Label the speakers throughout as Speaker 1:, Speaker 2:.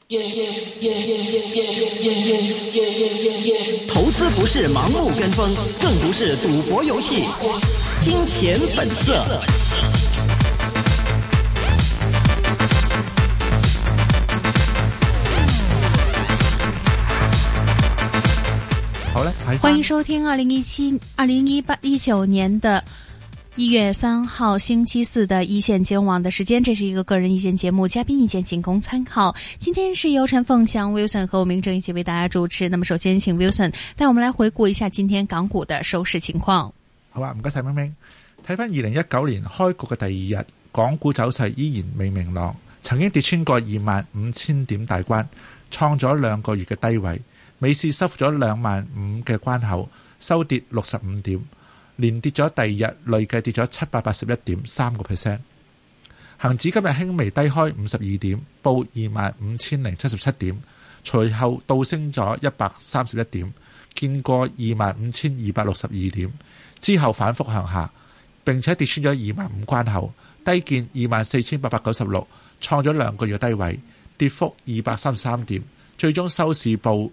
Speaker 1: 投資不是盲目跟風，更不是賭博遊戲。金錢本色。
Speaker 2: 好嘞，
Speaker 3: 歡迎收聽2019年的1月3號星期四的一線金融網的時間，這是一個個人意見節目，嘉賓意見僅供參考。今天是由陳鳳翔 Wilson 和我明正一起為大家主持。那麼首先請 Wilson 帶我們來回顧一下今天港股的收市情況。
Speaker 2: 好啊，唔該晒明明。睇翻2019年開局嘅第二日，港股走勢依然未明朗，曾經跌穿過25,000點大關，創咗2個月嘅低位。美市收復咗25,000嘅關口，收跌65點，連跌咗第二日，累計跌咗781.3%。恒指今日輕微低開52點，報25,077點，隨後倒升咗131點，見過25,262點，之後反覆向下，並且跌穿咗25,000關口，低見24,896，創咗2個月低位，跌幅233點，最終收市報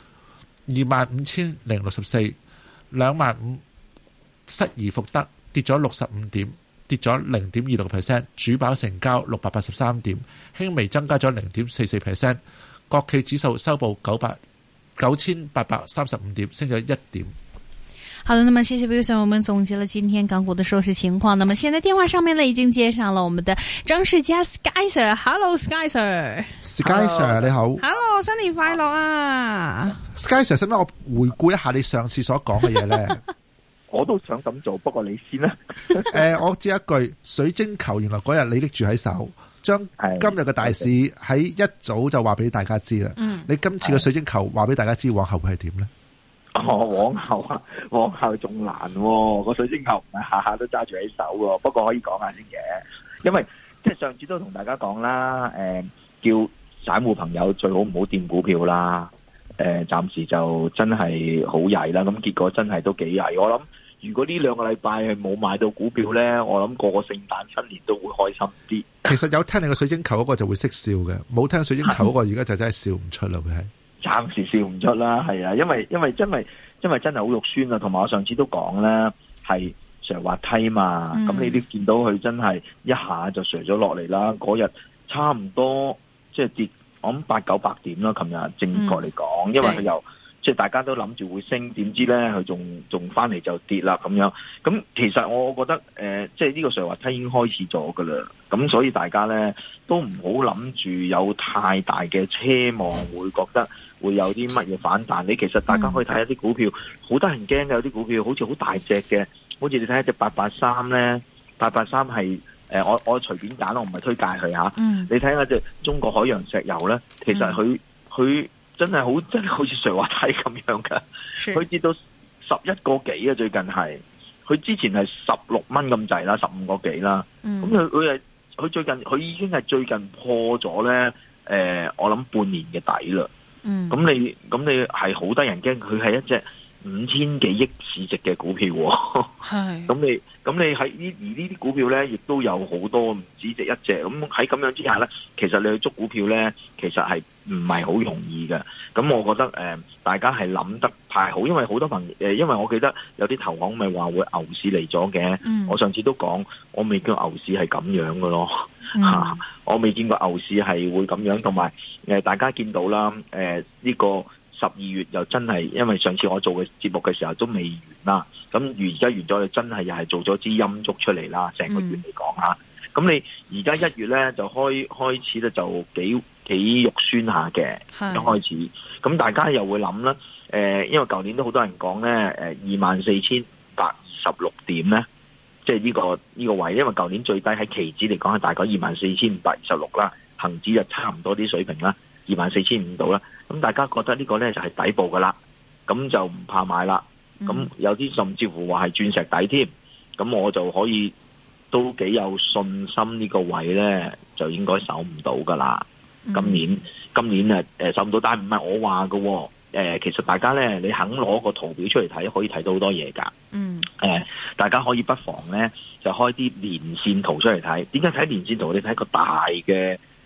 Speaker 2: 25,064， 25,000失而復得，跌咗65點，跌咗 0.26%， 主板成交683點，輕微增加咗 0.44%。 國企指數收報9,835點，升咗1點。
Speaker 3: 好的，那麼謝謝 Wilson， 我們總結了今天港股的收市情況。那麼現在電話上面呢已經接上了我們的張士佳 Sky Sir，Hello Sky Sir。Sky
Speaker 2: Sir 你好。
Speaker 3: Hello， 新年快樂啊
Speaker 2: ！Sky Sir， 使唔使我回顧一下你上次所講嘅嘢呢？
Speaker 4: 我都想咁做，不過你先啦。
Speaker 2: 我知一句，水晶球原來嗰日你拎住喺手，將今日嘅大市喺一早就話俾大家知啦。你今次嘅水晶球話俾大家知，往後會係點呢？
Speaker 4: 往後仲難喎，個水晶球唔係下下都揸住喺手喎。不過可以講下先嘅，因為即係上次都同大家講啦，叫散戶朋友最好唔好掂股票啦。暫時就真係好曳啦，咁結果真係都幾曳。我諗如果呢2個禮拜係冇買到股票呢，我諗個聖誕新年都會開心啲。
Speaker 2: 其實有聽你個水晶球嗰個就會識笑嘅，冇聽水晶球嗰個而家就真係笑唔出啦，佢係。暫
Speaker 4: 時笑唔出啦，係啊，因為真係好肉酸啊，同埋我上次都講咧，係上滑梯嘛，咁你都見到佢真係一下就上咗落嚟啦，嗰日差唔多即係跌，我諗800-900點啦，琴日正確嚟講，因為佢又即係大家都諗住會升，點知咧佢仲翻嚟就跌啦咁樣，咁其實我覺得即係呢個上滑梯已經開始咗噶啦，咁所以大家咧都唔好諗住有太大嘅奢望，會覺得會有啲乜嘢反彈。你其實大家可以睇下啲股票，好得人驚嘅，有啲股票好似好大隻嘅，好似你睇下隻883咧，883係我隨便揀，我唔係推介佢吓。你睇下隻中國海洋石油咧，其實佢真係好似上滑梯咁樣噶，佢跌到11個幾啊！最近係佢之前係16蚊咁滯啦，15個幾啦。咁佢最近佢已經係最近破咗咧，我諗半年嘅底啦。咁你係好得人驚，佢係一隻5000幾億市值嘅股票。係咁你喺呢啲股票咧，亦都有好多唔止隻一隻。咁喺咁樣之下咧，其實你去捉股票咧，其實係唔係好容易嘅。咁我覺得大家係諗得太好，因為好多朋友因為我記得有啲投行咪話會牛市嚟咗嘅。我上次都講，我未見牛市係咁樣嘅咯。我未見過牛市係會咁樣，同埋大家見到啦，呢個12月又真係，因為上次我做嘅節目嘅時候都未完啦，咁而家完咗，真係又係做咗支陰燭出嚟啦，成個月嚟講吓。咁你而家1月咧就開始咧就幾肉酸下嘅，一開始。咁大家又會諗啦，因為舊年都好多人講咧，24,526點咧，即係呢個位，因為舊年最低喺期指嚟講係大概24,526啦，恒指就差唔多啲水平啦，24,500度啦。咁大家覺得呢個呢就係底部噶啦，咁就唔怕買啦。咁有啲甚至乎話係鑽石底添，咁我就可以都幾有信心呢個位呢就應該守唔到噶啦。今年守唔到，但係唔係我話嘅。其實大家呢，你肯攞個圖表出嚟睇，可以睇到好多嘢噶。大家可以不妨呢就開啲連線圖出嚟睇。點解睇連線圖？你睇個大嘅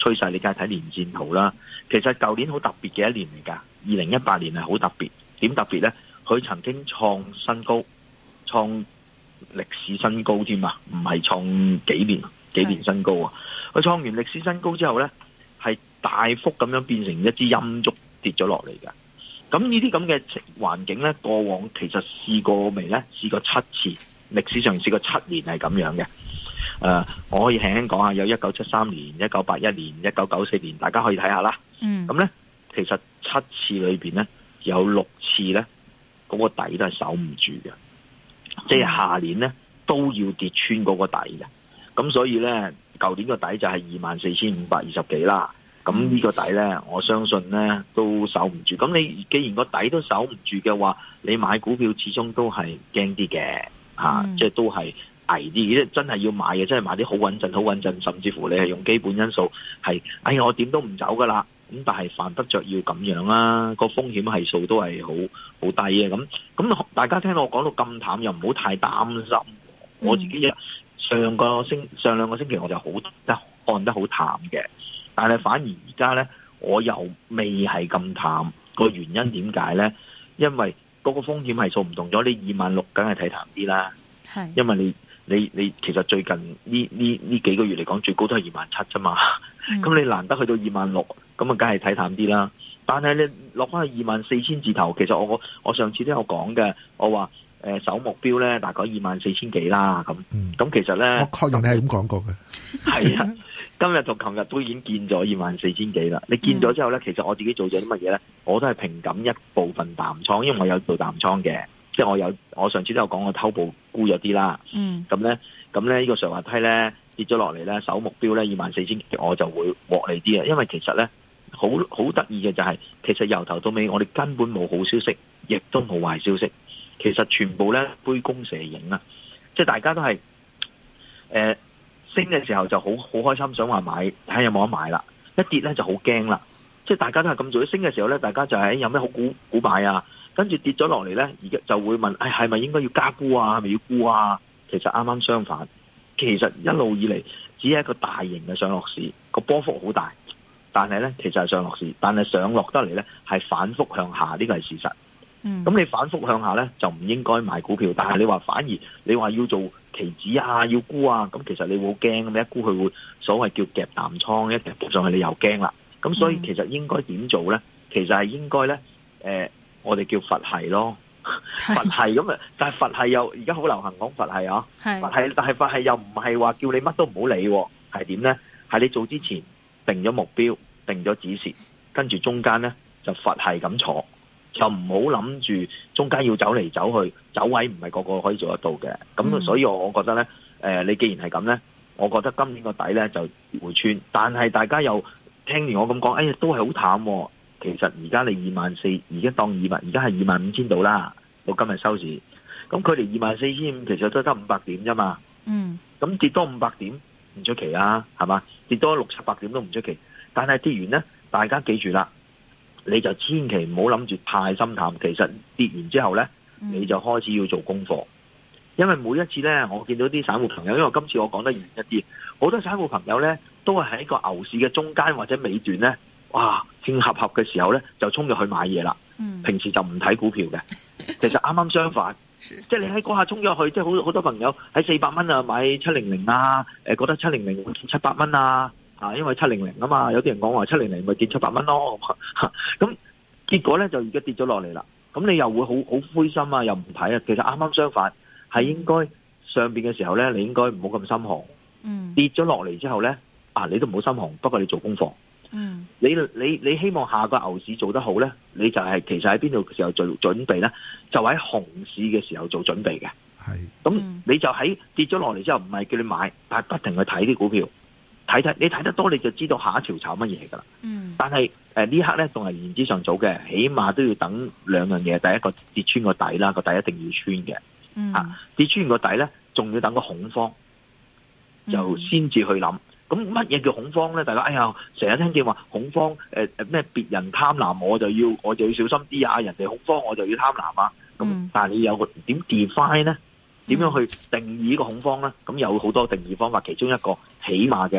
Speaker 4: 趨勢，你梗係睇年線圖啦。其實舊年好特別嘅一年嚟㗎，2018年係好特別。點特別咧？佢曾經創新高，創歷史新高添啊，唔係創幾年新高啊！佢創完歷史新高之後咧，係大幅咁樣變成一支陰燭跌咗落嚟嘅。咁呢啲咁嘅環境咧，過往其實試過未咧？試過7次，歷史上試過7年係咁樣嘅。我可以輕輕講下，有1973年、1981年、1994年，大家可以睇下啦。咁咧，其實7次裏邊咧，有6次咧，嗰個底都係守唔住嘅，即係下年咧都要跌穿嗰個底嘅。咁所以咧，舊年個底就係24,520幾啦。咁呢個底咧，我相信咧都守唔住。咁你既然個底都守唔住嘅話，你買股票始終都係驚啲嘅嚇，即係都係危啲。即係真係要買嘅，真係買啲好穩陣，甚至乎你係用基本因素係，哎呀我點都唔走噶啦。咁但係犯不着要咁樣啦，個風險係數都係好低嘅。咁大家聽到我講到咁淡，又唔好太擔心。我自己上兩個星期我就看得好淡嘅。但係反而而家咧，我又未係咁淡。個原因點解咧？因為嗰個風險係數唔同咗，你26,000梗係睇淡啲啦。係，因為你其實最近呢幾個月嚟講，最高都係27,000啫嘛。咁你難得去到26,000，咁啊，梗係睇淡啲啦。但係你落翻去24,000字頭，其實我上次都有講嘅，我話首目標咧大概24,000幾啦。咁其實咧，
Speaker 2: 我確認你係咁講過嘅。
Speaker 4: 係啊。今日同琴日都已經見咗24,000幾啦。你見咗之後咧，其實我自己做咗啲乜嘢咧？我都係平減一部分淡倉，因為我有做淡倉嘅，即係我上次都有講我偷步沽咗啲啦。咁咧呢個上滑梯咧跌咗落嚟咧，首目標咧24,000幾，我就會獲利啲啊。因為其實咧好得意嘅就係，其實由頭到尾我哋根本冇好消息，亦都冇壞消息，其實全部咧杯弓蛇影啊，即係大家都係升嘅時候就好開心，想話買，睇下有冇得買啦。一跌咧就好驚啦，即係大家都係咁做。升嘅時候咧，大家就係有咩好股買啊？跟住跌咗落嚟咧，而家就會問，係咪應該要加沽啊？係咪要沽啊？其實啱啱相反，其實一路以嚟只係一個大型嘅上落市，個波幅好大，但係咧其實係上落市，但係上落得嚟咧係反覆向下，呢個係事實。咁你反覆向下咧就唔應該買股票，但係你話反而你話要做期指啊，要沽啊，咁其實你會好驚，咁一沽佢會所謂叫夾淡倉，一夾上去你又驚啦。咁所以其實應該點做咧？其實係應該咧，我哋叫佛系咯，佛系咁啊。但係佛系又而家好流行講佛系啊，佛系，但係佛系又唔係話叫你乜都唔好理，係點咧？係你做之前定咗目標，定咗止蝕，跟住中間咧就佛系咁坐。就唔好諗住中間要走嚟走去，走位唔係個個可以做得到嘅。咁所以我覺得咧，你既然係咁咧，我覺得今年個底咧就會穿。但係大家又聽完我咁講，哎呀都係好淡喎。其實而家你24,000，而家當而家係25,000度啦，到今日收市。咁距離24,500其實都得500點啫嘛。咁跌多500點唔出奇啊，係嘛？跌多600-700點都唔出奇。但係跌完咧，大家記住啦。你就千祈唔好諗住太心淡，其實跌完之後咧，你就開始要做功課，因為每一次咧，我見到啲散戶朋友，因為今次我講得嚴一啲，好多散戶朋友咧都係喺個牛市嘅中間或者尾段咧，哇，興合合嘅時候咧就衝入去買嘢啦。平時就唔睇股票嘅，其實啱啱相反，即係你喺嗰下衝咗去，即係好多朋友喺400蚊啊買700啊，覺得700會見700蚊啊。因為700啊嘛，有啲人講話700咪見700蚊咯，咁結果咧就而家跌咗落嚟啦，咁你又會好灰心啊，又唔睇啊。其實啱啱相反，係應該上邊嘅時候咧，你應該唔好咁心寒。跌咗落嚟之後咧，你都唔好心寒，不過你做功課。你希望下個牛市做得好咧，你就係其實喺邊度嘅時候做準備咧，就喺熊市嘅時候做準備嘅。係，咁你就喺跌咗落嚟之後，唔係叫你買，但係不停去睇啲股票。你睇得多你就知道下一條炒乜嘢噶啦。但係呢刻咧仲係言之尚早嘅，起碼都要等兩樣嘢。第一個跌穿個底啦，個底一定要穿嘅。跌穿個底咧，仲要等個恐慌，就先至去諗。咁乜嘢叫恐慌咧？大家成日聽見話恐慌，咩別人貪婪我就要小心啲啊，人哋恐慌我就要貪婪啊。咁但係你有個點 define 咧？點樣去定義呢個恐慌咧？咁有好多定義方法，其中一個起碼嘅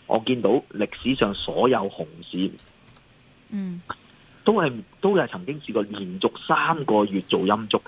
Speaker 4: 我見到歷史上所有熊市，都係曾經試過連續3個月做陰燭嘅。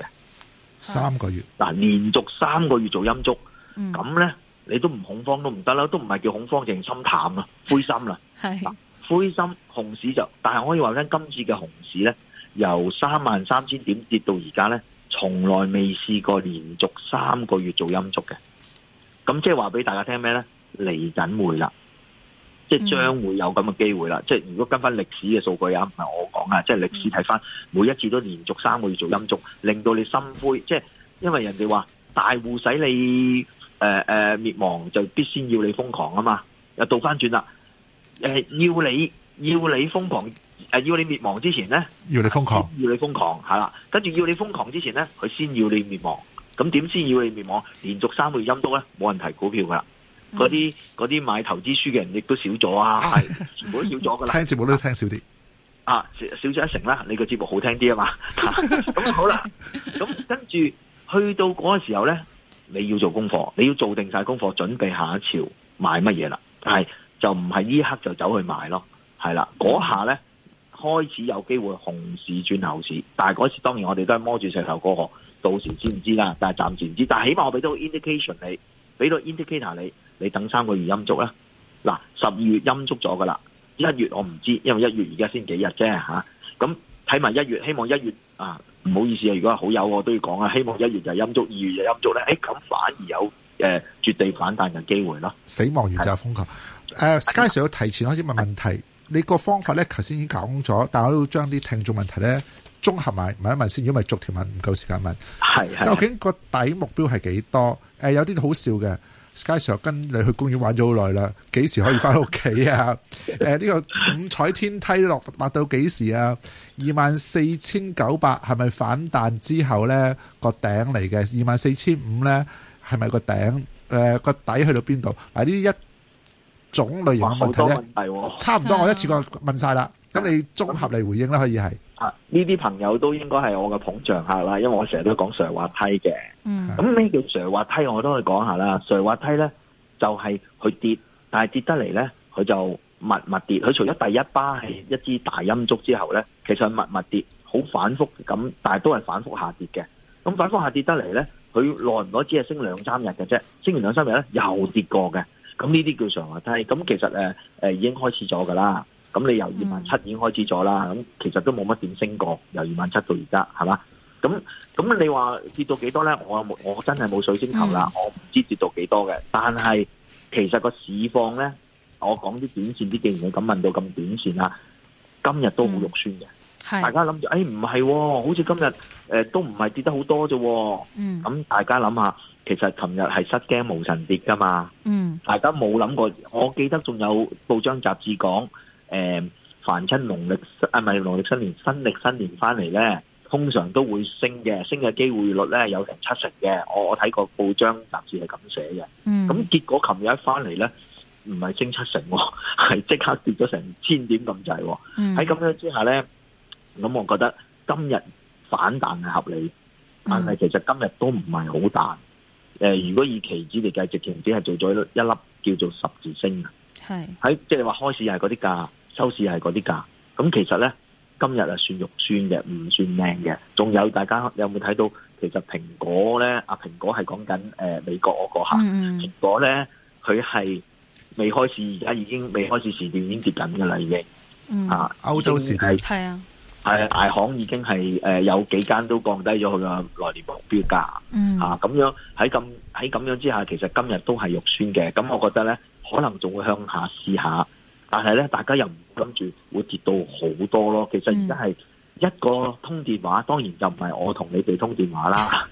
Speaker 2: 3個月
Speaker 4: 嗱，連續3個月做陰燭，咁咧你都唔恐慌都唔得啦，都唔係叫恐慌，淨心淡啦，灰心啦。灰心熊市就，但係我可以話咧，今次嘅熊市咧，由33,000點跌到而家咧，從來未試過連續3個月做陰燭嘅。咁即係話俾大家聽咩咧？嚟緊會啦，即係將會有咁嘅機會啦。即係如果跟翻歷史嘅數據啊，唔係我講啊，即係歷史睇翻，每一次都連續3個月做陰燭，令到你心灰。即係因為人哋話大戶使你滅亡，就必先要你瘋狂啊嘛。又倒翻轉啦，要你瘋狂，要你滅亡之前咧，要你瘋狂係啦。跟住要你瘋狂之前咧，佢先要你滅亡。咁點先要你滅亡？連續3個月陰燭咧，冇人提股票噶啦。嗰啲買投資書嘅人亦都少咗啊，全部都少咗噶啦。聽節目都聽少啲啊，少咗1成啦。你個節目好聽啲啊嘛。咁好啦，咁跟住去到嗰個時候咧，你要做功課，你要做定晒功課，準備下一朝買乜嘢啦。係就唔係呢刻就走去買咯，係啦。嗰下咧開始有機會熊市轉牛市，但係嗰時當然我哋都係摸住石頭過河。到時知唔知啦？但係暫時唔知。但係起碼我俾到 indication 你，俾到 indicator 你等3個月陰燭啦。嗱，12月陰燭咗噶啦，1月我唔知，因為1月而家先幾日啫吓。咁睇埋1月，希望1月啊，唔好意思啊，如果係好友我都要講啊，希望1月就陰燭，2月就陰燭咧。咁反而有絕地反彈嘅機會咯。
Speaker 2: 死亡完就係瘋狂。Sky Sir 要提前開始問問題，你個方法咧，頭先已經講咗，但係我都要將啲聽眾問題咧。綜合埋問一問先，如果唔係逐條問唔夠時間問。係究竟個底目標係幾多？有啲好笑嘅 Sky Sir 跟你去公園玩咗好耐啦，幾時可以翻屋企啊？呢個五彩天梯落達到幾時啊？24,900係咪反彈之後咧個頂嚟嘅？24,500咧係咪個頂？個底去到邊度？嗱，呢一種類型嘅問題咧，差唔多我一次過問晒啦。咁你綜合嚟回應啦，可以係。
Speaker 4: 呢啲朋友都應該係我嘅捧場客啦，因為我成日都講上滑梯嘅。咁咩叫上滑梯？我都可以講下啦。上滑梯咧就係佢跌，但係跌得嚟咧，佢就密跌。佢除咗第一巴係一支大陰燭之後咧，其實密跌，好反覆咁，但係都係反覆下跌嘅。咁反覆下跌得嚟咧，佢耐唔耐只係升2-3日嘅啫，升完2-3日咧又跌過嘅。咁呢啲叫上滑梯。咁其實已經開始咗噶啦。咁你由27,000已經開始咗啦，咁其實都冇乜點升過，由27,000到而家，係嘛？咁你話跌到幾多咧？我真係冇水晶球啦，我唔知跌到幾多嘅。但係其實個市況咧，我講啲短線啲，既然你咁問到咁短線啦，今日都好肉酸嘅。大家諗住，唔係，好似今日都唔係跌得好多啫。咁大家諗下，其實琴日係失驚無神跌噶嘛。大家冇諗過，我記得仲有報章雜誌講。凡親農曆新年、新曆新年翻嚟咧，通常都會升嘅，升嘅機會率咧有成70%嘅。我睇過報章雜誌係咁寫嘅。咁結果琴日一翻嚟咧，唔係升70%，係即刻跌咗成1000點咁滯。喺咁樣之下咧，咁我覺得今日反彈係合理，但係其實今日都唔係好彈。如果以期指嚟計，直情只係做咗一粒叫做十字星啊。喺即係話開市係嗰啲價，收市係嗰啲價。咁其實咧，今日係算肉酸嘅，唔算靚嘅。仲有大家有冇睇到？其實蘋果咧，蘋果係講緊美國嗰個嚇。蘋果咧，佢係未開市，而家已經未開市時段已經跌緊㗎啦，已經。歐洲時段係啊。係大行已經係有幾間都降低咗佢嘅來年目標價。咁樣喺咁樣之下，其實今日都係肉酸嘅。咁我覺得咧，可能仲會向下試下，但係咧，大家又唔諗住會跌到好多咯。其實而家係一個通電話，當然就唔係我同你哋通電話啦。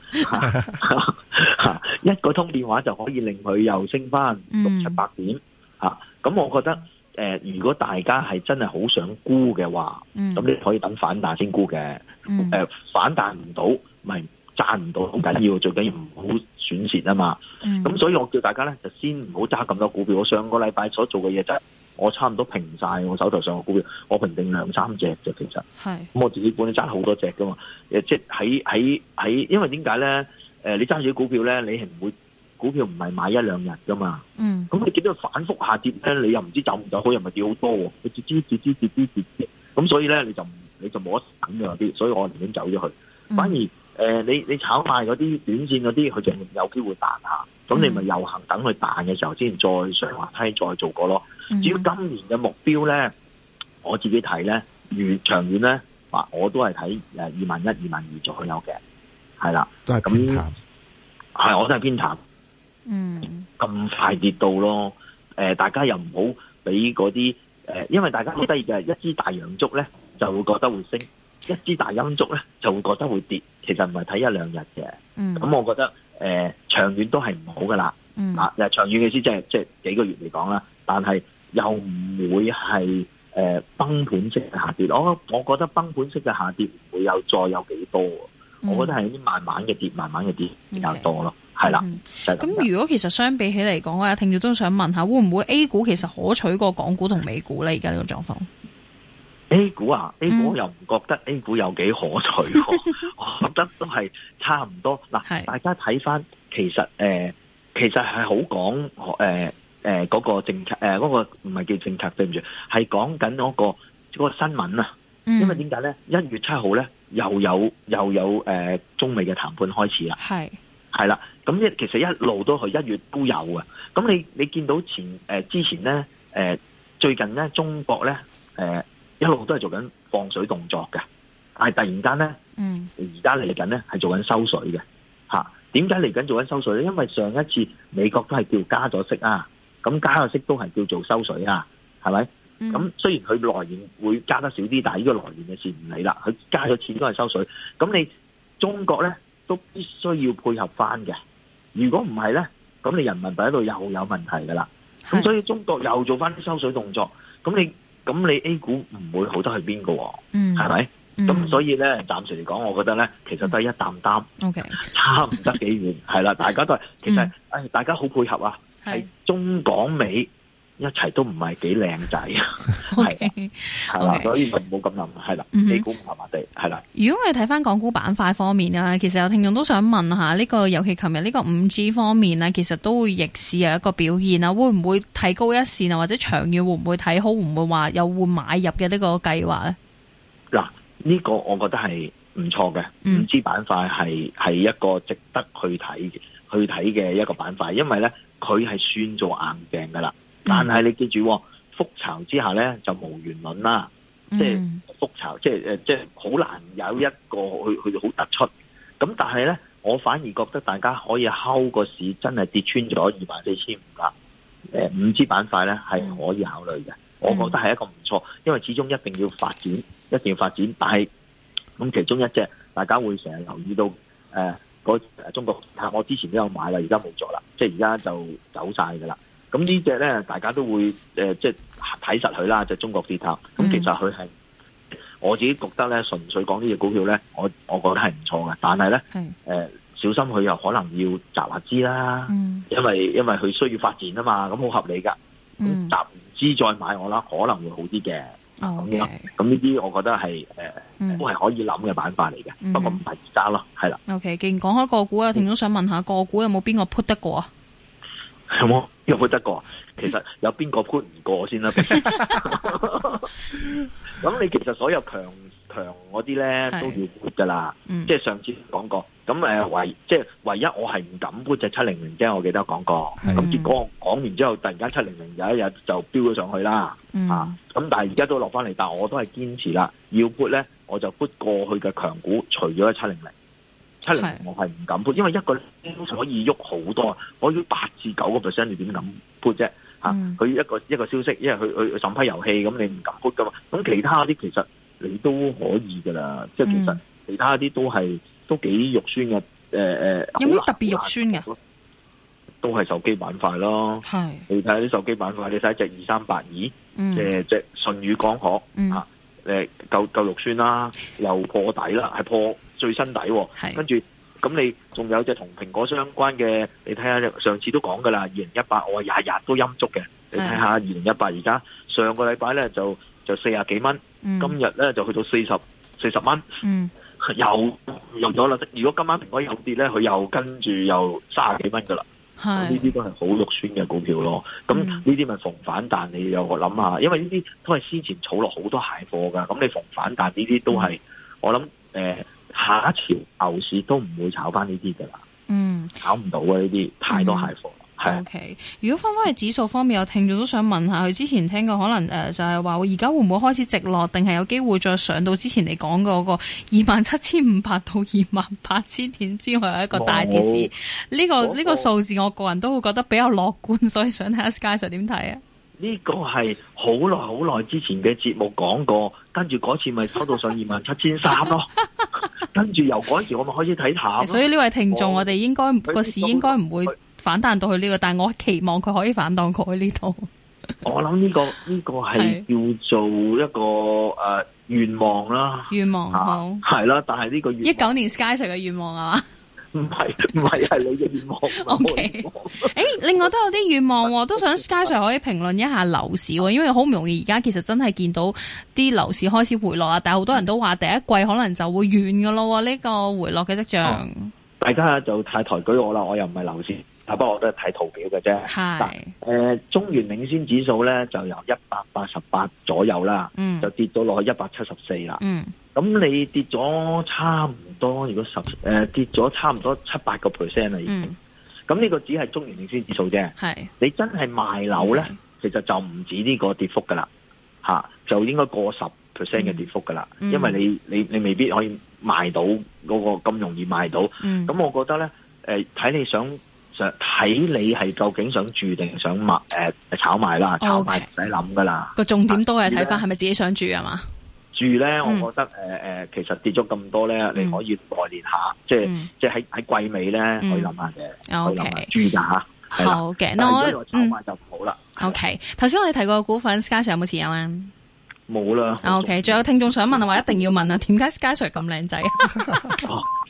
Speaker 4: 一個通電話就可以令佢又升翻600-700點。咁我覺得。如果大家係真係好想沽嘅話，咁你可以等反彈先沽嘅。反彈唔到，咪賺唔到好緊要，最緊要唔好損蝕啊嘛。咁所以我叫大家咧，就先唔好揸咁多股票。我上個禮拜所做嘅嘢就係，我差唔多平晒我手頭上嘅股票，我平定2-3隻啫。其實咁我自己本身揸好多隻噶嘛。即係喺，因為點解咧？你揸住啲股票咧，你係唔會股票唔係買一兩日噶嘛。
Speaker 3: 嗯。
Speaker 4: 咁你見到反覆下跌咧，你又唔知走唔走好，又咪跌好多喎。你跌。咁所以咧，你就冇得等嘅啲，所以我寧願走咗去。反而你炒賣嗰啲短線嗰啲，佢就有機會彈下。咁你咪又行等佢彈嘅時候先再上滑梯再做過咯。至於今年嘅目標咧，我自己睇咧，長遠咧，我都係睇21,000、22,000左右嘅，係啦，
Speaker 2: 都係偏淡。
Speaker 4: 係，我都係偏淡。咁快跌到咯。大家又唔好俾嗰啲因為大家好得意嘅，一支大陽燭咧就會覺得會升，一支大陰燭咧就會覺得會跌。其實唔係睇一兩日嘅。咁我覺得長遠都係唔好噶啦。長遠嘅意思即係幾個月嚟講啦，但係又唔會係崩盤式嘅下跌。我覺得崩盤式嘅下跌唔會再有幾多。我覺得係啲慢慢嘅跌比較多咯。係啦。
Speaker 3: 咁如果其實相比起嚟講，我有聽眾都想問下，會唔會 A 股其實可取過港股同美股咧？而家呢個狀況
Speaker 4: ？A 股啊，A 股我又唔覺得 A 股有幾可取我覺得都係差唔多。嗱，大家睇翻，其實係好講嗰個政策，嗰個唔係叫政策，對唔住，係講緊嗰個新聞啊。因為點解咧？1月7號咧又有中美嘅談判開始啦。係啦，咁其實一路都係1月都有啊。咁你見到之前咧最近咧中國咧一路都係做緊放水動作嘅，但係突然間咧而家嚟緊咧係做緊收水嘅嚇。點解嚟緊做緊收水咧？因為上一次美國都係叫加咗息啊，咁加咗息都係叫做收水啊，係咪？咁雖然佢來年會加得少啲，但係呢個來年嘅事唔理啦，佢加咗錢都係收水。咁你中國咧都必須要配合翻嘅。如果唔係咧，咁你人民幣喺度又有問題噶啦。咁所以中國又做翻啲收水動作，咁你 A 股唔會好得去邊個？係咪？咁所以咧，暫時嚟講，我覺得咧，其實都係一擔擔，差唔得幾遠。係啦，大家都係，其實大家好配合啊，係中港美一齊都唔係幾靚仔，係啦，所以就唔好咁諗，係啦，A 股麻麻地，係啦。
Speaker 3: 如果我哋睇翻港股板塊方面啊，其實有聽眾都想問下呢個，尤其琴日呢個5G 方面啊，其實都會逆市有一個表現啊，會唔會提高一線啊，或者長遠會唔會睇好，會唔會話有會買入嘅呢個計劃咧？
Speaker 4: 嗱，呢個我覺得係唔錯嘅，5G 板塊係一個值得去睇嘅一個板塊，因為咧佢係算做硬淨噶啦。但係你記住，覆巢之下咧就無完卵啦，即係覆巢，即係好難有一個去好突出。咁但係咧，我反而覺得大家可以睺個市真係跌穿咗24,500啦。5G 板塊咧係可以考慮嘅，我覺得係一個唔錯，因為始終一定要發展。但係咁其中一隻大家會成日留意到中國，我之前都有買啦，而家冇咗啦，即係而家就走晒噶啦。咁呢隻咧，大家都會即係睇實佢啦，就中國鐵塔。咁其實佢係我自己覺得咧，純粹講呢隻股票咧，我覺得係唔錯嘅。但係咧，小心佢又可能要集下資啦，因為佢需要發展啊嘛，咁好合理噶。咁集完資再買我啦，可能會好啲嘅。咁呢啲我覺得係都係可以諗嘅板塊嚟嘅，不過唔係而家咯，係啦。
Speaker 3: OK， 既然講開個股啊，聽眾想問下個股有冇邊個 put 得過啊？
Speaker 4: 有冇邊個 put 得過？其實有邊個 put 唔過先啦？咁你其實所有強嗰啲咧都要 put 噶啦，即係上次講過。咁唯一我係唔敢 put 隻700啫，我記得講過。咁結果講完之後，突然間700有一日就飆咗上去啦。咁但係而家都落翻嚟，但係我都係堅持啦，要 put 咧我就 put 過去嘅強股，除咗700。700我係唔敢 put，因為一個可以喐好多，可以8至9%，你點敢 put 啫？佢一個消息，因為佢審批遊戲，咁你唔敢 put 噶嘛。咁其他啲其實你都可以噶啦，即係其實其他啲都幾肉酸嘅。
Speaker 3: 有冇特別肉酸嘅？
Speaker 4: 都係手機板塊咯。你睇下啲手機板塊，你睇隻2382，隻舜宇光學夠肉酸啦，又破底啦，係破最新底。跟住咁你仲有隻同蘋果相關嘅，你睇下上次都講噶啦，2018我日日都陰足嘅。你睇下2018而家上個禮拜咧就40幾蚊，今日咧就去到40蚊，又咗啦。如果今晚蘋果又跌咧，佢又跟住又30幾蚊噶啦。 呢啲都係好肉酸嘅股票咯。咁呢啲咪逢反彈，你有個諗下，因為呢啲都係先前儲落好多蟹貨噶。咁你逢反彈呢啲都係，我諗下一潮牛市都唔會炒翻呢啲噶啦。炒唔到啊！呢啲太多蟹貨。
Speaker 3: OK， 如果翻去指數方面，有聽眾都想問下，佢之前聽過可能就係話，而家會唔會開始直落，定係有機會再上到之前你講嗰個27,500到28,000點之外，有一個大跌市？呢個數字，我個人都會覺得比較樂觀，所以想睇下 Sky Sir 點睇啊？
Speaker 4: 呢個係好耐之前嘅節目講過，跟住嗰次咪收到上27,300咯，跟住由嗰時我咪開始睇淡。所
Speaker 3: 以呢位聽眾，我哋應該個市應該唔會反彈到去呢個，但係我期望佢可以反彈過去呢度。
Speaker 4: 我諗呢個係叫做一個願望啦，
Speaker 3: 願望好
Speaker 4: 係啦，但係呢個
Speaker 3: 19年 Sky Sir 嘅願望係嘛？
Speaker 4: 唔係係你嘅願望。
Speaker 3: OK， 另外都有啲願望，都想 Sky Sir 可以評論一下樓市，因為好唔容易而家其實真係見到啲樓市開始回落啦，但係好多人都話第一季可能就會完噶咯，呢個回落嘅跡象。
Speaker 4: 大家就太抬舉我啦，我又唔係樓市。不過我都係睇圖表嘅啫。係中原領先指數咧就由188左右啦，就跌到落去174啦。咁你跌咗差唔多，如果跌咗差唔多7-8%啦已經。咁呢個只係中原領先指數啫。係你真係賣樓咧，其實就唔止呢個跌幅噶啦，就應該過10% 嘅跌幅噶啦。因為你未必可以賣到嗰個咁容易賣到。咁我覺得咧，睇你睇你係究竟想住定想炒賣啦，炒賣唔使諗噶啦。個重點都係睇翻係咪自己想住啊嘛？住咧，我覺得其實跌咗咁多咧，你可以內練下，即係喺季尾咧可以諗下嘅，可以諗下住㗎嚇。好嘅，那我炒賣就唔好啦。
Speaker 3: OK， 頭先我哋提過嘅股份 ，Sky Sir 有冇持有啊？
Speaker 4: 冇啦。
Speaker 3: OK， 仲有聽眾想問啊，話一定要問啊，點解 Sky Sir 咁靚仔？